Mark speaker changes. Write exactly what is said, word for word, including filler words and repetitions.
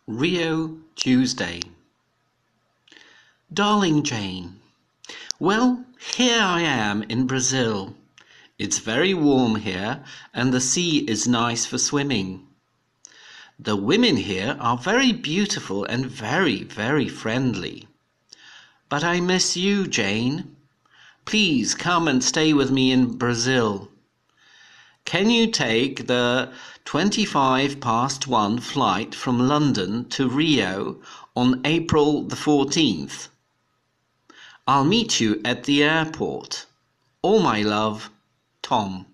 Speaker 1: Rio, Tuesday. Darling Jane, well, here I am in Brazil. It's very warm here and the sea is nice for swimming. The women here are very beautiful and very, very friendly. But I miss you, Jane. Please come and stay with me in Brazil. Can you take the twenty-five past one flight from London to Rio on April the fourteenth? I'll meet you at the airport. All my love, Tom.